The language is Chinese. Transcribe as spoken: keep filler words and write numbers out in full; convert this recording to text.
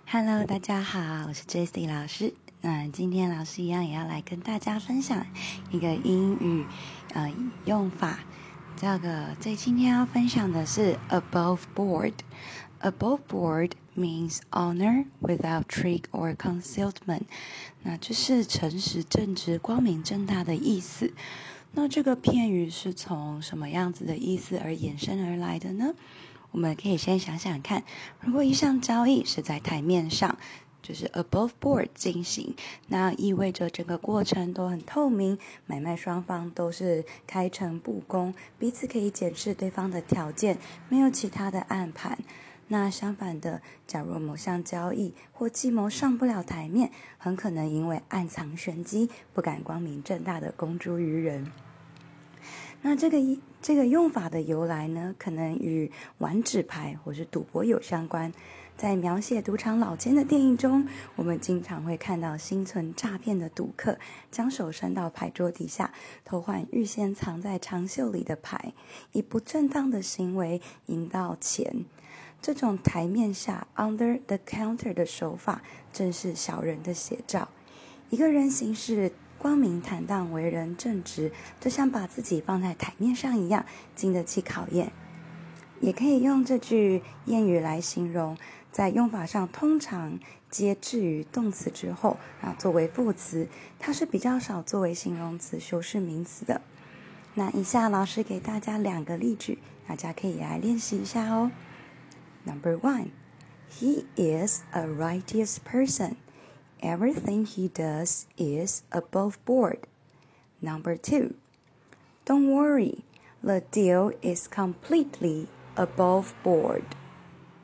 Hello， 大家好，我是 Jessie 老师。那今天老师一样也要来跟大家分享一个英语呃用法。这个这今天要分享的是 above board。Above board means honor without trick or concealment。那就是诚实正直、光明正大的意思。那这个片语是从什么样子的意思而衍生而来的呢？我们可以先想想看，如果一项交易是在台面上，就是 above board 进行，那意味着整个过程都很透明，买卖双方都是开诚布公，彼此可以检视对方的条件，没有其他的暗盘。那相反的，假如某项交易或计谋上不了台面，很可能因为暗藏玄机，不敢光明正大的公诸于人。那这个这个用法的由来呢，可能与玩纸牌或是赌博有相关。在描写赌场老千的电影中，我们经常会看到心存诈骗的赌客将手伸到牌桌底下，偷换预先藏在长袖里的牌，以不正当的行为赢到钱。这种台面下 under the counter 的手法，正是小人的写照。一个人行事光明坦荡，为人正直，就像把自己放在台面上一样，经得起考验。也可以用这句谚语来形容，在用法上通常接置于动词之后，然后作为副词，它是比较少作为形容词修饰名词的。那以下老师给大家两个例句，大家可以来练习一下哦。Number one, he is a righteous person.Everything he does is above board. Number two, don't worry, the deal is completely above board.